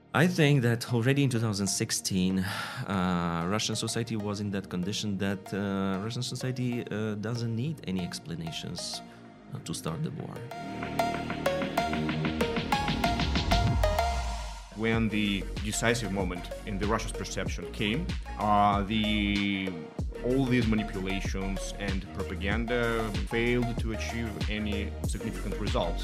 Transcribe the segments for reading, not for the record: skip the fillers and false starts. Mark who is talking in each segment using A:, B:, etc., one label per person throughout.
A: I think that already in 2016, Russian society was in that condition that Russian society doesn't need any explanations to start the war.
B: When the decisive moment in the Russia's perception came, all these manipulations and propaganda failed to achieve any significant results.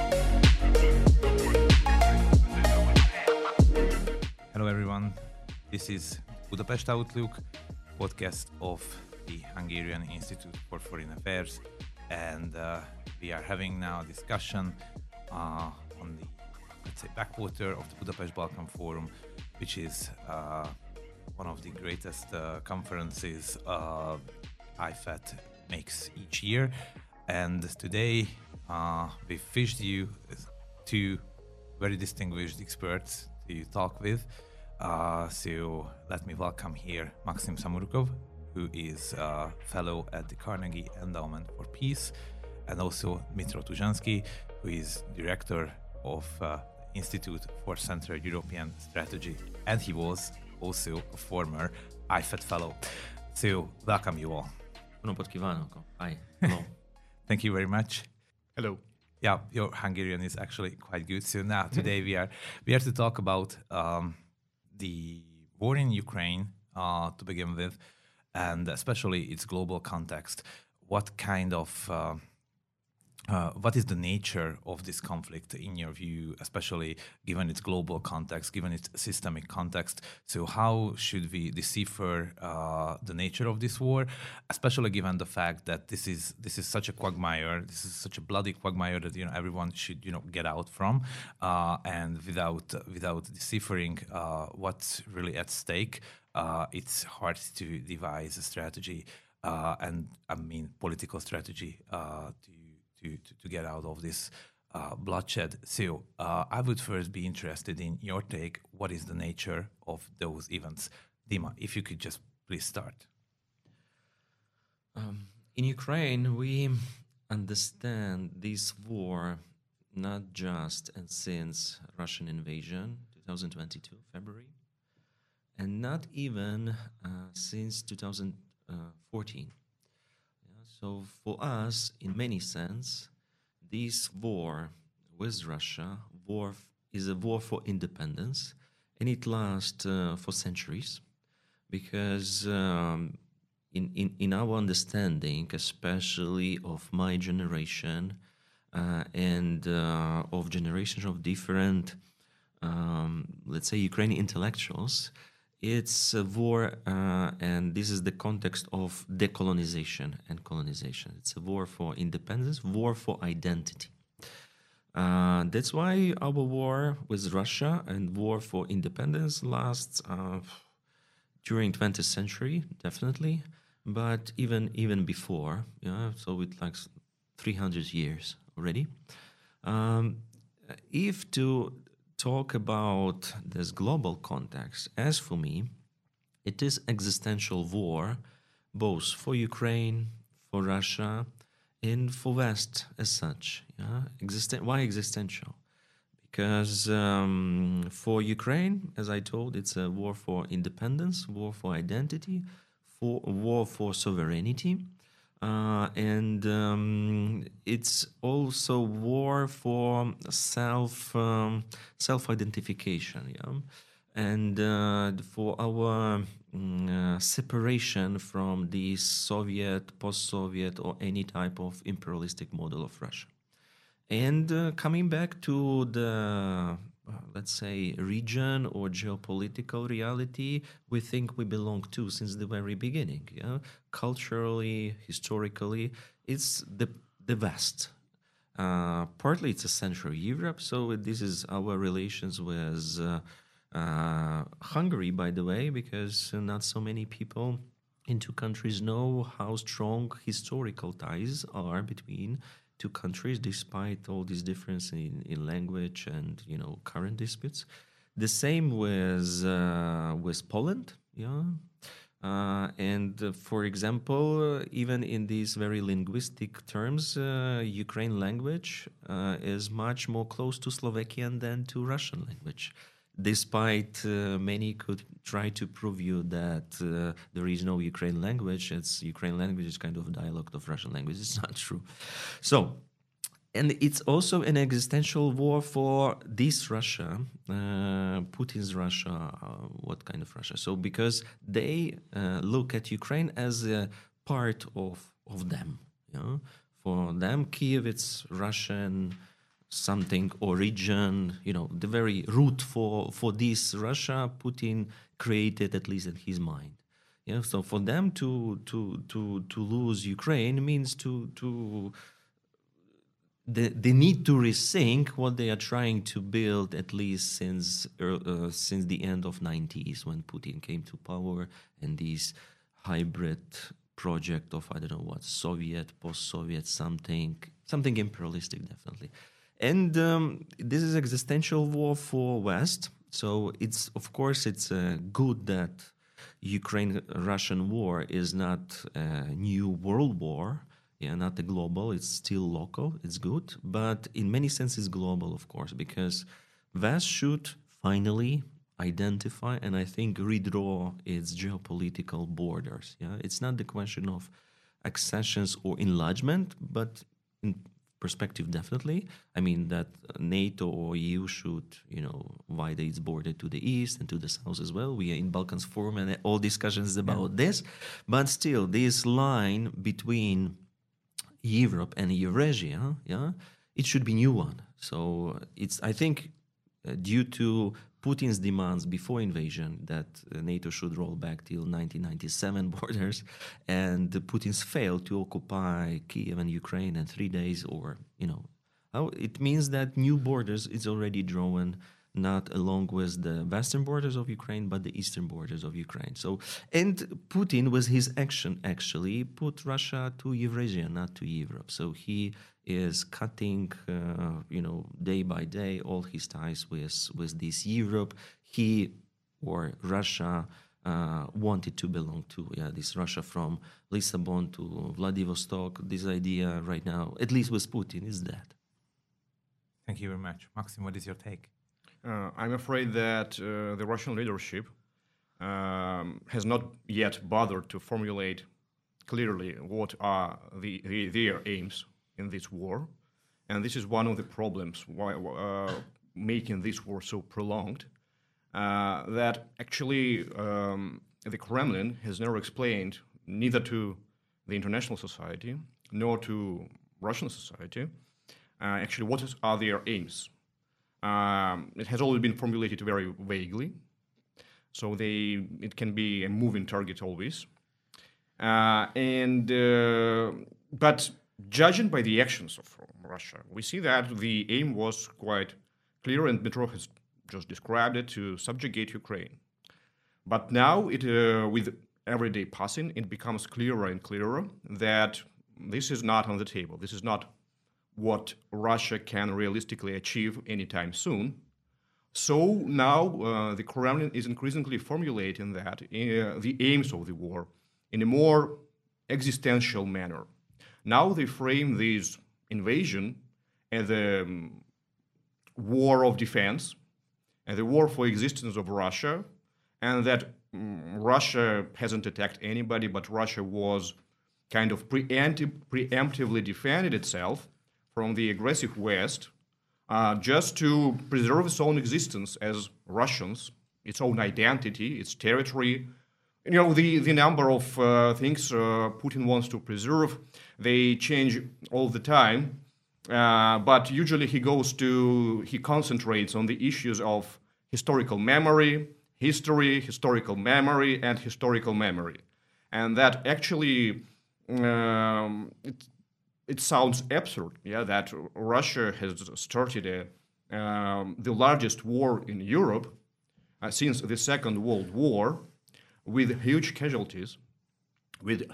C: Hello everyone, this is Budapest Outlook, podcast of the Hungarian Institute for Foreign Affairs, and we are having now a discussion on the, let's say, backwater of the Budapest Balkan Forum, which is one of the greatest conferences IFET makes each year. And today we fished you two very distinguished experts to talk with. So let me welcome here Maxim Samorukov, who is a fellow at the Carnegie Endowment for Peace, and also Dmytro Tuzhansky, who is director of Institute for Central European Strategy, and he was also a former IFET fellow. So welcome you all.
A: Hi. Hello.
C: Thank you very much.
B: Hello.
C: Yeah, your Hungarian is actually quite good. So now today we are to talk about the war in Ukraine to begin with, and especially its global context. What kind of what is the nature of this conflict in your view, especially given its global context, given its systemic context? So how should we decipher the nature of this war, especially given the fact that this is such a quagmire, this is such a bloody quagmire that everyone should get out from, and without deciphering what's really at stake, it's hard to devise a strategy, and I mean political strategy to get out of this bloodshed. So I would first be interested in your take. What is the nature of those events? Dima, if you could just please start.
A: In Ukraine, we understand this war not just and since Russian invasion, 2022, February, and not even since 2014. So for us, in many sense, this war with Russia is a war for independence, and it lasts for centuries, because in our understanding, especially of my generation and of generations of different, let's say, Ukrainian intellectuals, it's a war, and this is the context of decolonization and colonization. It's a war for independence, war for identity. That's why our war with Russia and war for independence lasts during 20th century, definitely, but even before. So it like 300 years already. If to talk about this global context, as for me, it is existential war, both for Ukraine, for Russia, and for West as such. Why existential? Because for Ukraine, as I told, it's a war for independence, war for identity, war for sovereignty. And it's also war for self-identification, and for our separation from the Soviet, post-Soviet, or any type of imperialistic model of Russia. And coming back to the let's say, region or geopolitical reality we think we belong to since the very beginning. Culturally, historically, it's the West. Partly it's a Central Europe, so this is our relations with Hungary, by the way, because not so many people in two countries know how strong historical ties are between two countries, despite all these differences in language and current disputes. The same with Poland, and for example, even in these very linguistic terms, Ukraine language is much more close to Slovakian than to Russian language. despite many could try to prove you that there is no Ukraine language, it's Ukraine language is kind of a dialect of Russian language. It's not true. So, and it's also an existential war for this Russia, Putin's Russia. What kind of Russia? So because they look at Ukraine as a part of them. You know? For them, Kiev, it's Russian something origin. You know, the very root for this Russia, Putin created, at least in his mind. Yeah. So for them to lose Ukraine means to they need to rethink what they are trying to build, at least since the end of 90s, when Putin came to power, and this hybrid project of, I don't know what, Soviet, post-Soviet, something imperialistic, definitely. And this is existential war for West. So it's, of course, it's good that Ukraine-Russian war is not a new world war. Yeah, not a global, it's still local, it's good, but in many senses global, of course, because West should finally identify and I think redraw its geopolitical borders. Yeah, it's not the question of accessions or enlargement, but in perspective, definitely. I mean that NATO or EU should, widen its border to the east and to the south as well. We are in Balkans Forum and all discussions about this, but still, this line between Europe and Eurasia, it should be new one. So it's, I think, due to Putin's demands before invasion that NATO should roll back till 1997 borders, and Putin's failed to occupy Kiev and Ukraine in 3 days, or it means that new borders is already drawn, not along with the western borders of Ukraine, but the eastern borders of Ukraine. So, and Putin, with his action, actually put Russia to Eurasia, not to Europe. So he is cutting, day by day, all his ties with this Europe. He, or Russia, wanted to belong to, this Russia from Lisbon to Vladivostok. This idea right now, at least with Putin, is dead.
C: Thank you very much. Maxim, what is your take?
B: I'm afraid that the Russian leadership has not yet bothered to formulate clearly what are their aims in this war. And this is one of the problems why making this war so prolonged, that actually the Kremlin has never explained, neither to the international society nor to Russian society, actually what are their aims. It has always been formulated very vaguely, so it can be a moving target always. But judging by the actions of Russia, we see that the aim was quite clear, and Dmytro has just described it, to subjugate Ukraine. But now, with every day passing, it becomes clearer and clearer that this is not on the table. This is not what Russia can realistically achieve anytime soon. So now the Kremlin is increasingly formulating that the aims of the war in a more existential manner. Now they frame this invasion as a war of defense, as a war for existence of Russia, and that Russia hasn't attacked anybody, but Russia was kind of preemptively defended itself from the aggressive West, just to preserve its own existence as Russians, its own identity, its territory. The number of things Putin wants to preserve, they change all the time, but usually he concentrates on the issues of historical memory, historical memory, and historical memory. And that actually, it sounds absurd, that Russia has started the largest war in Europe since the Second World War, with huge casualties, with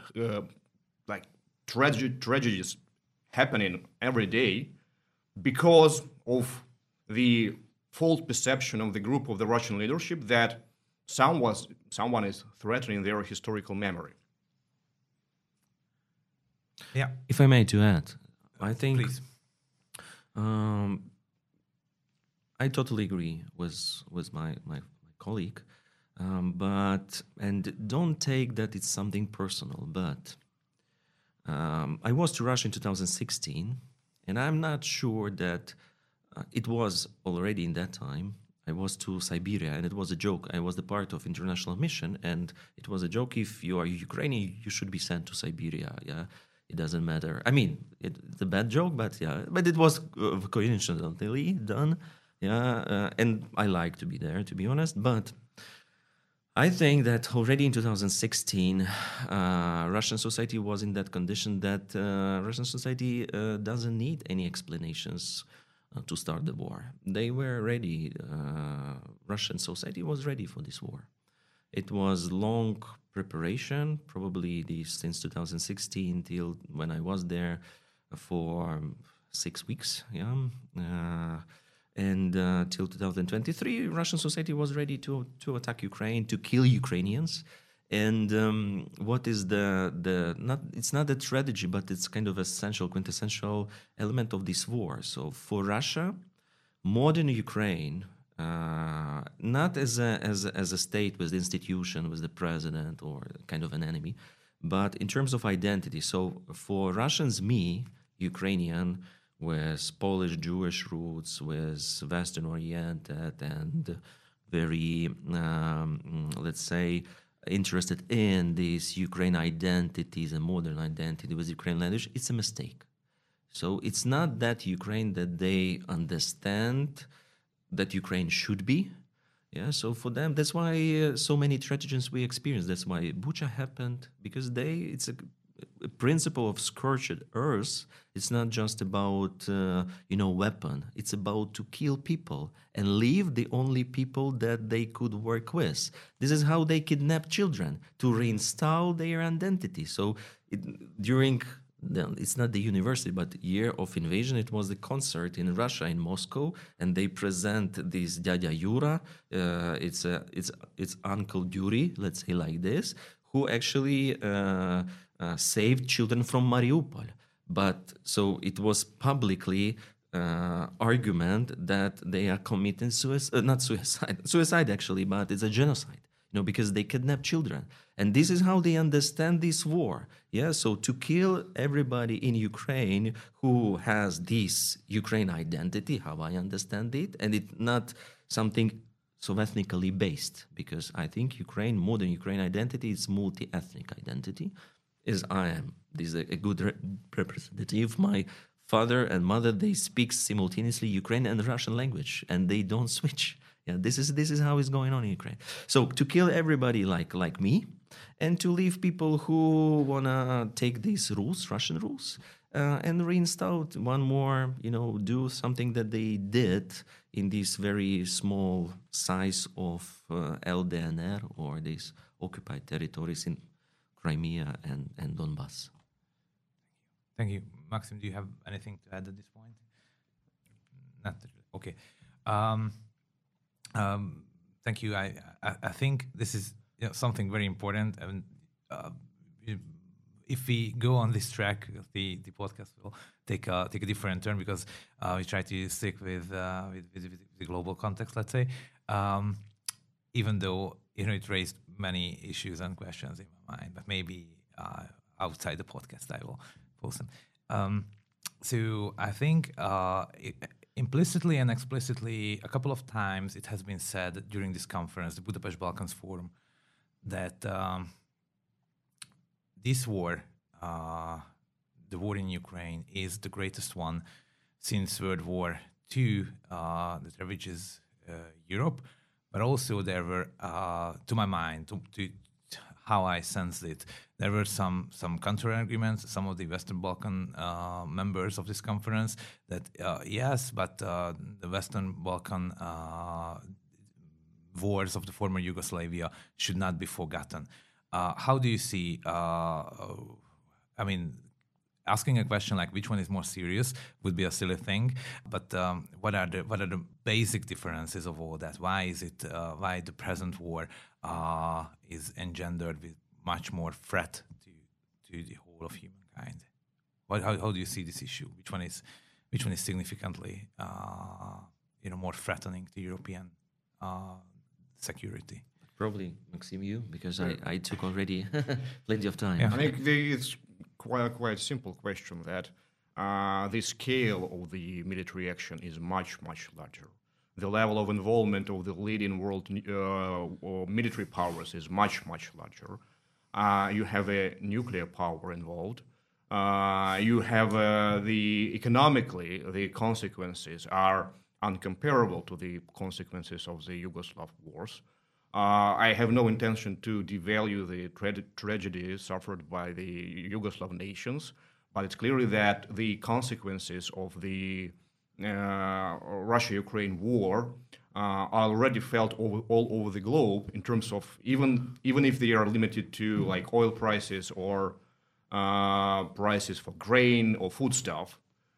B: tragedies happening every day, because of the false perception of the group of the Russian leadership that someone is threatening their historical memory.
C: Yeah.
A: If I may to add, I think
C: Please.
A: I totally agree with my colleague, but and don't take that it's something personal. But I was to Russia in 2016, and I'm not sure that it was already in that time. I was to Siberia, and it was a joke. I was the part of international mission, and it was a joke. If you are Ukrainian, you should be sent to Siberia. Yeah, it doesn't matter. I mean, it's a bad joke, but yeah, but it was coincidentally done. Yeah, and I like to be there, to be honest. But I think that already in 2016, Russian society was in that condition that Russian society doesn't need any explanations to start the war. They were ready. Russian society was ready for this war. It was long preparation, probably since 2016 till when I was there for 6 weeks. Yeah. And till 2023, Russian society was ready to attack Ukraine, to kill Ukrainians. And what is the not? It's not a strategy, but it's kind of essential, quintessential element of this war. So for Russia, modern Ukraine, not as a state with the institution, with the president or kind of an enemy, but in terms of identity. So for Russians, me, Ukrainian, with Polish Jewish roots, with Western oriented and very, let's say, interested in this Ukraine identities and modern identity with Ukrainian language, it's a mistake. So it's not that Ukraine that they understand that Ukraine should be. Yeah, so for them, that's why so many tragedies we experience. That's why Bucha happened, because it's a principle of scorched earth. It's not just about weapon. It's about to kill people and leave the only people that they could work with. This is how they kidnap children to reinstall their identity. So during it's not the university, but year of invasion, it was the concert in Russia, in Moscow, and they present this Dядя Yura. It's Uncle Yuri, let's say like this, who actually saved children from Mariupol. But so it was publicly argument that they are committing suicide actually, but it's a genocide. Because they kidnap children. And this is how they understand this war. Yeah, so to kill everybody in Ukraine who has this Ukraine identity, how I understand it, and it's not something so ethnically based, because I think modern Ukraine identity is multi-ethnic identity, as I am. This is a good representative. My father and mother, they speak simultaneously Ukrainian and Russian language, and they don't switch. Yeah, this is how it's going on in Ukraine. So to kill everybody like me, and to leave people who wanna take these rules, Russian rules, and reinstall one more, do something that they did in this very small size of LDNR, or these occupied territories in Crimea and Donbass.
C: Thank you. Maxim, do you have anything to add at this point? Not okay. Thank you. I think this is something very important, and if we go on this track, the podcast will take a different turn, because we try to stick with the global context, let's say. Even though it raised many issues and questions in my mind, but maybe outside the podcast I will post them. So I think implicitly and explicitly, a couple of times it has been said during this conference, the Budapest Balkans Forum, that this war, the war in Ukraine, is the greatest one since World War II that ravages Europe. But also there were, to my mind, to how I sensed it, there were some counter-arguments, some of the Western Balkan members of this conference, that yes, but the Western Balkan wars of the former Yugoslavia should not be forgotten. How do you see, asking a question like which one is more serious would be a silly thing, but what are the basic differences of all that? Why is it why the present war is engendered with much more threat to the whole of humankind? How do you see this issue? Which one is significantly more threatening to European security.
A: Probably, Maxim, you, because I took already plenty of time.
C: Yeah.
B: I think it's quite simple question that the scale of the military action is much, much larger. The level of involvement of the leading world or military powers is much, much larger. You have a nuclear power involved. You have economically, the consequences are uncomparable to the consequences of the Yugoslav wars. I have no intention to devalue the tragedy suffered by the Yugoslav nations, but it's clear that the consequences of the Russia-Ukraine war are already felt all over the globe in terms of even if they are limited to like oil prices or prices for grain or foodstuff.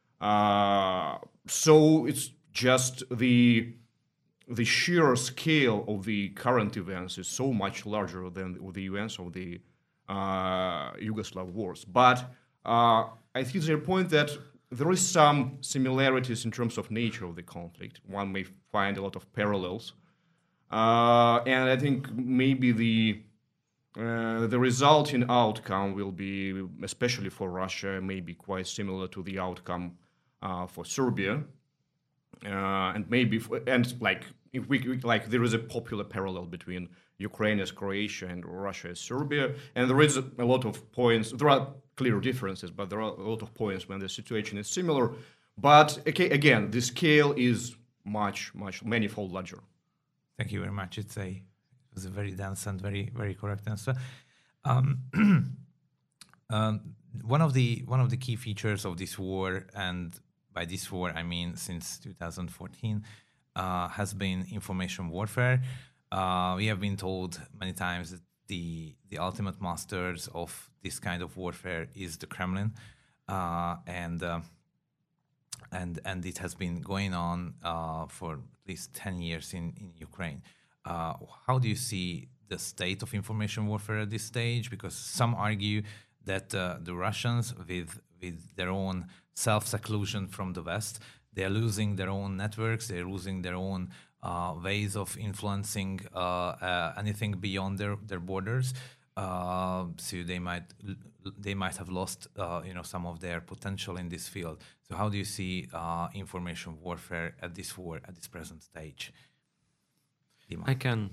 B: So it's just the sheer scale of the current events is so much larger than the events of the Yugoslav wars. But I think there's a point that there is some similarities in terms of nature of the conflict. One may find a lot of parallels. And I think maybe the resulting outcome will be, especially for Russia, may be quite similar to the outcome for Serbia. And maybe, if we like, there is a popular parallel between Ukraine as Croatia and Russia as Serbia, and there is a lot of points. There are clear differences, but there are a lot of points when the situation is similar. But again, the scale is much, manifold larger.
C: Thank you very much. It was a very dense and very, very correct answer. One of the key features of this war, and by this war I mean since 2014, has been information warfare. We have been told many times that the ultimate masters of this kind of warfare is the Kremlin, and it has been going on for at least 10 years in Ukraine. How do you see the state of information warfare at this stage? Because some argue that the Russians, with their own self-seclusion from the West, they are losing their own networks, they're losing their own ways of influencing anything beyond their borders. So they might have lost some of their potential in this field. So how do you see information warfare at this present stage? Dima.
A: I can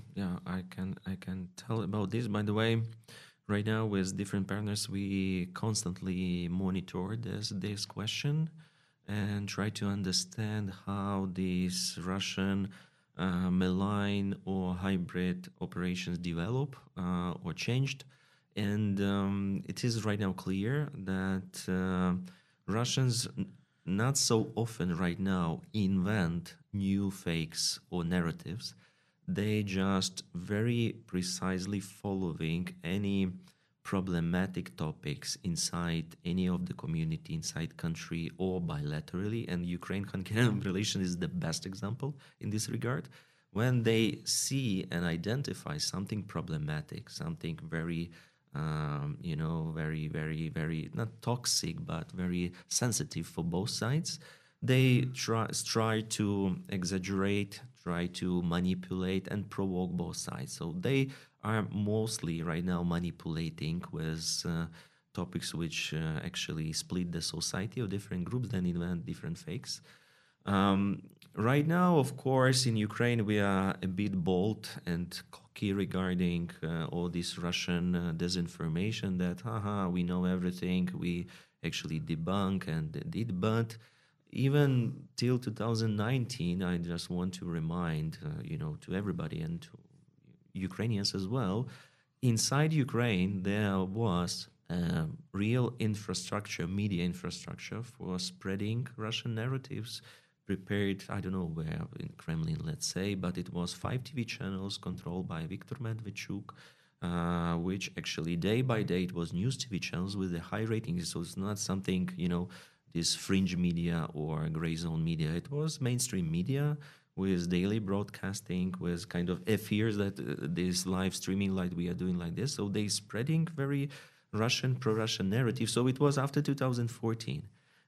A: tell about this. By the way, right now with different partners, we constantly monitor this question and try to understand how these Russian malign or hybrid operations develop or changed. And it is right now clear that Russians not so often right now invent new fakes or narratives. They just very precisely following any problematic topics inside any of the community, inside country, or bilaterally. And Ukraine-Hungarian relation is the best example in this regard. When they see and identify something problematic, something very, very, very, very, not toxic, but very sensitive for both sides, they try to exaggerate, try to manipulate and provoke both sides. So they are mostly right now manipulating with topics which actually split the society of different groups, then invent different fakes. Right now, of course, in Ukraine, we are a bit bold and cocky regarding all this Russian disinformation that, we know everything, we actually debunk and did, but even till 2019, I just want to remind, to everybody and to Ukrainians as well, inside Ukraine, there was real infrastructure, media infrastructure for spreading Russian narratives, prepared, I don't know where, in Kremlin, let's say, but it was 5 TV channels controlled by Viktor Medvedchuk, which actually day by day it was news TV channels with a high ratings. So it's not something, this fringe media or gray zone media. It was mainstream media with daily broadcasting, with kind of fears that this live streaming like we are doing like this. So they spreading very Russian, pro-Russian narrative. So it was after 2014.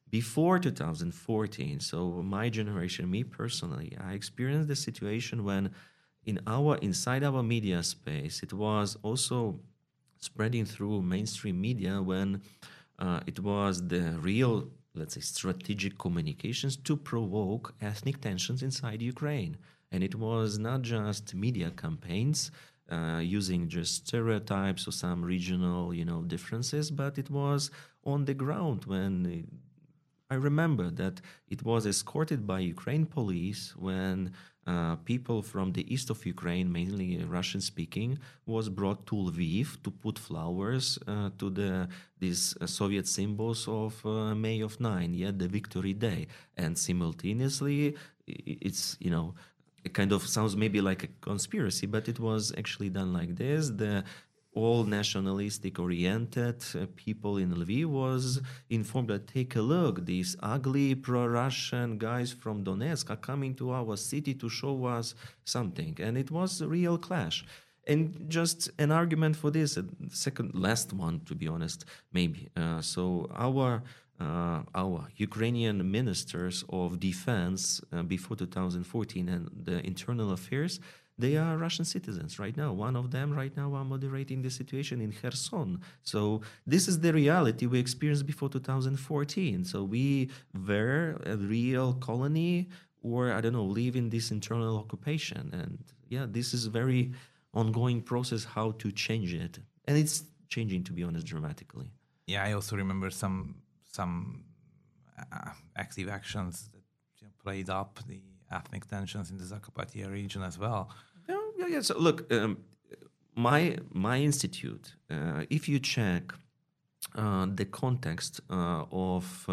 A: Before 2014, so my generation, me personally, I experienced the situation when inside our media space, it was also spreading through mainstream media when it was the real, let's say, strategic communications to provoke ethnic tensions inside Ukraine. And it was not just media campaigns using just stereotypes or some regional, differences, but it was on the ground when I remember that it was escorted by Ukraine police when people from the east of Ukraine, mainly Russian-speaking, was brought to Lviv to put flowers to these Soviet symbols of May of 9, yeah, the Victory Day, and simultaneously, it's it kind of sounds maybe like a conspiracy, but it was actually done like this. The all nationalistic oriented people in Lviv was informed that take a look, these ugly pro-Russian guys from Donetsk are coming to our city to show us something. And it was a real clash. And just an argument for this, second last one, to be honest, maybe. So our Ukrainian ministers of defense before 2014 and the internal affairs, they are Russian citizens right now. One of them right now are moderating the situation in Kherson. So this is the reality we experienced before 2014. So we were a real colony or, I don't know, live in this internal occupation. And yeah, this is a very ongoing process how to change it. And it's changing, to be honest, dramatically.
C: Yeah, I also remember some active actions that played up the ethnic tensions in the Zakarpattia region as well.
A: Yeah. So look, my institute, if you check the context of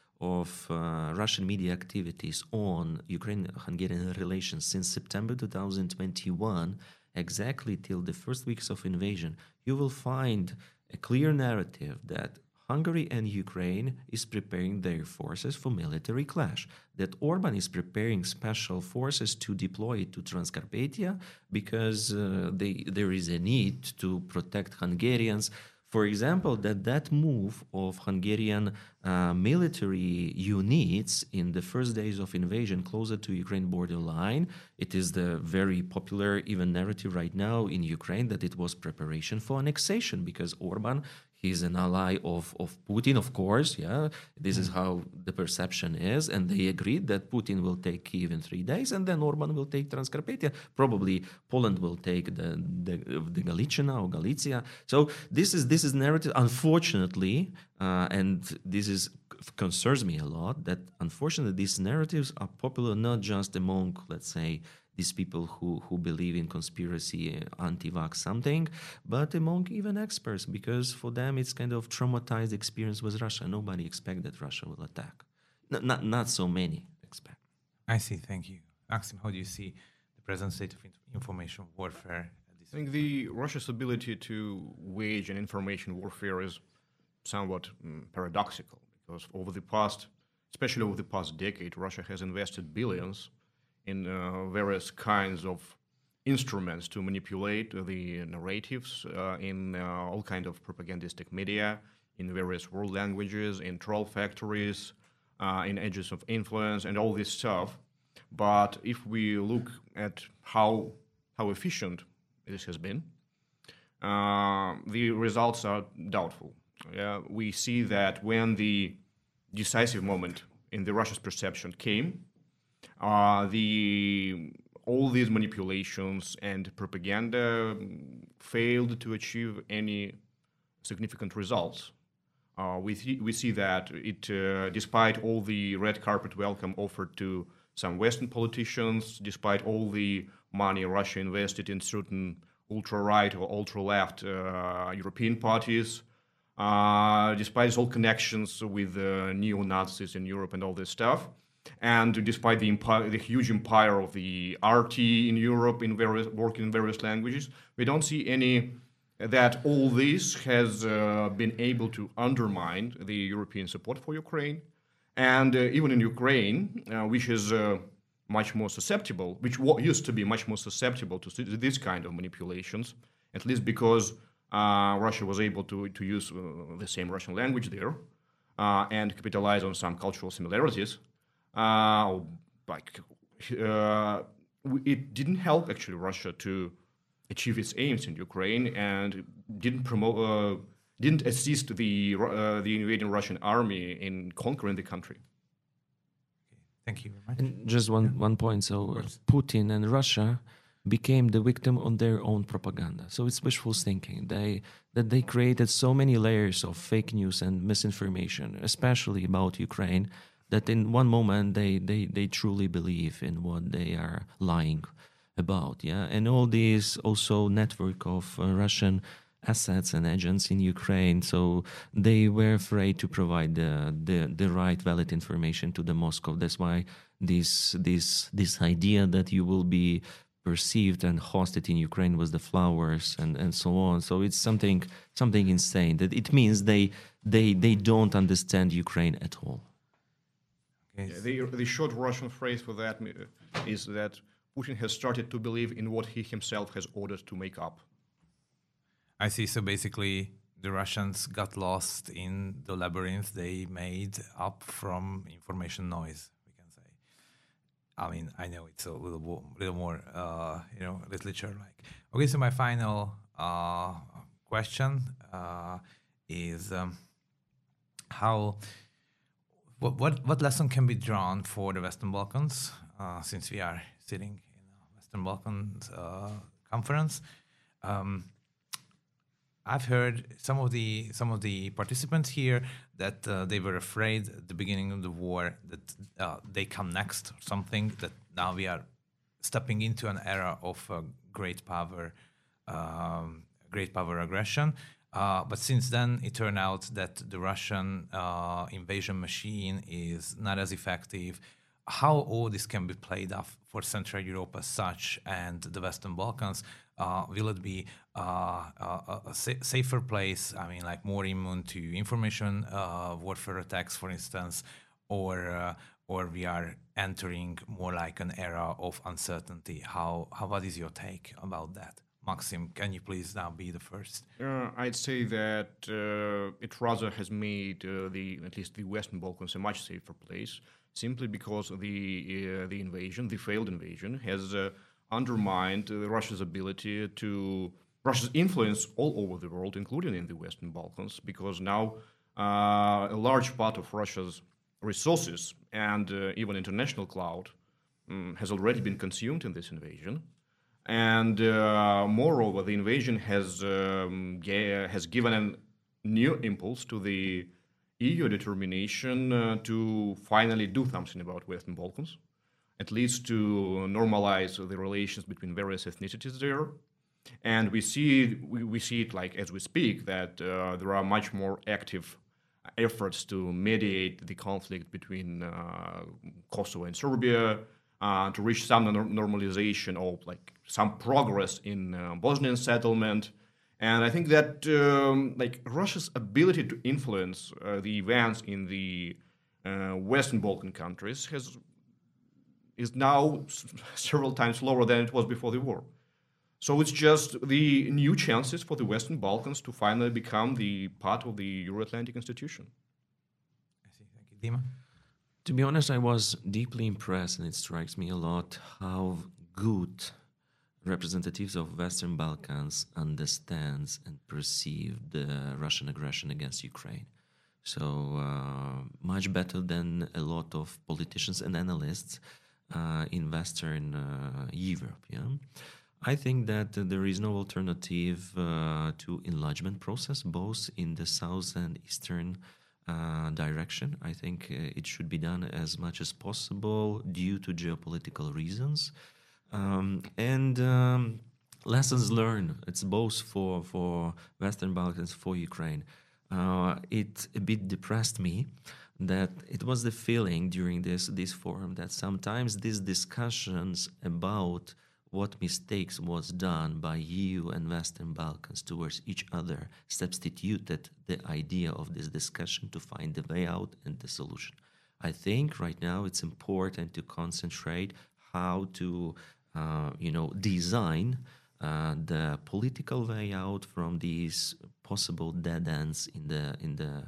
A: Russian media activities on Ukraine-Hungarian relations since September 2021, exactly till the first weeks of invasion, you will find a clear narrative that Hungary and Ukraine is preparing their forces for military clash, that Orban is preparing special forces to deploy to Transcarpathia because there is a need to protect Hungarians. For example, that move of Hungarian military units in the first days of invasion closer to Ukraine borderline, it is the very popular even narrative right now in Ukraine that it was preparation for annexation because Orban, he's an ally of Putin, of course, yeah. This is how the perception is, and they agreed that Putin will take Kyiv in 3 days, and then Orban will take Transcarpathia. Probably Poland will take the Galiciana or Galicia. So this is narrative. Unfortunately, and this concerns me a lot, that unfortunately these narratives are popular not just among, let's say, these people who believe in conspiracy, anti-vax something, but among even experts, because for them it's kind of traumatized experience with Russia. Nobody expects that Russia will attack. Not so many expect.
C: I see, thank you. Maxim, how do you see the present state of information warfare?
B: I think the Russia's ability to wage an information warfare is somewhat paradoxical, because especially over the past decade, Russia has invested billions in various kinds of instruments to manipulate the narratives in all kinds of propagandistic media, in various world languages, in troll factories, in edges of influence, and all this stuff. But if we look at how efficient this has been, the results are doubtful. We see that when the decisive moment in the Russia's perception came, all these manipulations and propaganda failed to achieve any significant results. We see that despite all the red carpet welcome offered to some Western politicians, despite all the money Russia invested in certain ultra-right or ultra-left European parties, despite all connections with neo-Nazis in Europe and all this stuff, and despite the huge empire of the RT in Europe working in various languages, we don't see that all this has been able to undermine the European support for Ukraine. And even in Ukraine, which is much more susceptible, which used to be much more susceptible to this kind of manipulations, at least because Russia was able to use the same Russian language there. and capitalize on some cultural similarities, uh, like it didn't help actually Russia to achieve its aims in Ukraine and didn't assist the invading Russian army in conquering the country.
C: Thank you very much.
A: And just one point. So Putin and Russia became the victim on their own propaganda. So it's wishful thinking. They created so many layers of fake news and misinformation, especially about Ukraine, that in one moment they truly believe in what they are lying about. Yeah, and all these also network of Russian assets and agents in Ukraine. So they were afraid to provide the right valid information to the Moscow. That's why this idea that you will be perceived and hosted in Ukraine with the flowers and so on. So it's something insane. That it means they don't understand Ukraine at all.
C: Okay.
B: The short Russian phrase for that is that Putin has started to believe in what he himself has ordered to make up.
C: I see. So basically, the Russians got lost in the labyrinth they made up from information noise, we can say. I mean, I know it's a little more, literature-like. Okay, so my final question is what lesson can be drawn for the Western Balkans, since we are sitting in a Western Balkans conference? I've heard some of the participants here that they were afraid at the beginning of the war that they come next, or something, that now we are stepping into an era of great power aggression. But since then, it turned out that the Russian invasion machine is not as effective. How all this can be played off for Central Europe as such and the Western Balkans? Will it be a safer place? I mean, like more immune to information warfare attacks, for instance, or we are entering more like an era of uncertainty? What is your take about that? Maxim, can you please now be the first?
B: I'd say that it rather has made at least the Western Balkans a much safer place, simply because the failed invasion, has undermined Russia's ability Russia's influence all over the world, including in the Western Balkans, because now a large part of Russia's resources and even international clout has already been consumed in this invasion. And moreover, the invasion has given a new impulse to the EU determination to finally do something about Western Balkans, at least to normalize the relations between various ethnicities there. And we see it, like as we speak, that there are much more active efforts to mediate the conflict between Kosovo and Serbia, to reach some normalization or like some progress in Bosnian settlement. And I think that Russia's ability to influence the events in the Western Balkan countries is now several times lower than it was before the war. So it's just the new chances for the Western Balkans to finally become the part of the Euro-Atlantic institution.
C: I see. Thank you. Dima?
A: To be honest, I was deeply impressed, and it strikes me a lot how good representatives of Western Balkans understands and perceive the Russian aggression against Ukraine. So much better than a lot of politicians and analysts in Western Europe. Yeah? I think that there is no alternative to enlargement process, both in the south and eastern direction. I think it should be done as much as possible due to geopolitical reasons. And lessons learned, it's both for Western Balkans, for Ukraine. It a bit depressed me that it was the feeling during this forum that sometimes these discussions about what mistakes was done by EU and Western Balkans towards each other substituted the idea of this discussion to find the way out and the solution. I think right now it's important to concentrate how to, design the political way out from these possible dead ends in the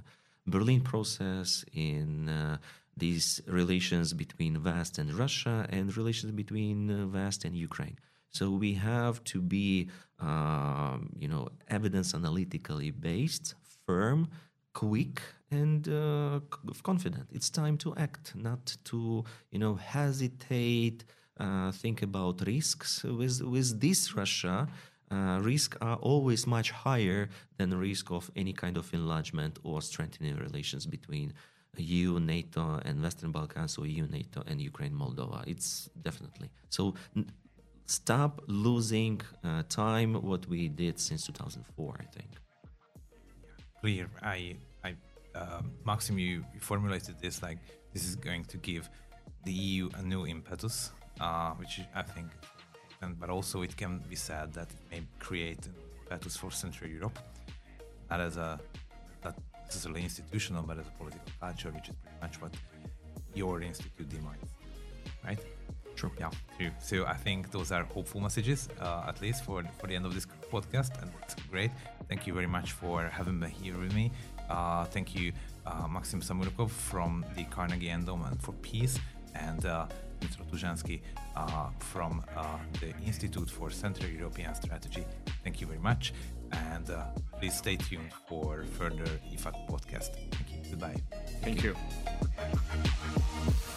A: Berlin process, in these relations between West and Russia, and relations between West and Ukraine. So we have to be, evidence analytically based, firm, quick, and confident. It's time to act, not to, hesitate, think about risks. With this Russia, risks are always much higher than the risk of any kind of enlargement or strengthening relations between EU, NATO, and Western Balkans, or EU, NATO, and Ukraine, Moldova. It's definitely. So stop losing time, what we did since 2004, I think.
C: Clear. Maxim, you formulated this like this is going to give the EU a new impetus, which I think, but also it can be said that it may create an impetus for Central Europe, not necessarily institutional, but as a political culture, which is pretty much what your institute demands, right?
A: Sure.
C: Yeah, true. So I think those are hopeful messages, at least for the end of this podcast, and it's great. Thank you very much for having me here with me. Thank you, Maxim Samorukov from the Carnegie Endowment for Peace, and Dmytro Tuzhansky from the Institute for Central European Strategy. Thank you very much, and please stay tuned for further IFAC podcast. Thank you. Goodbye.
B: Thank you.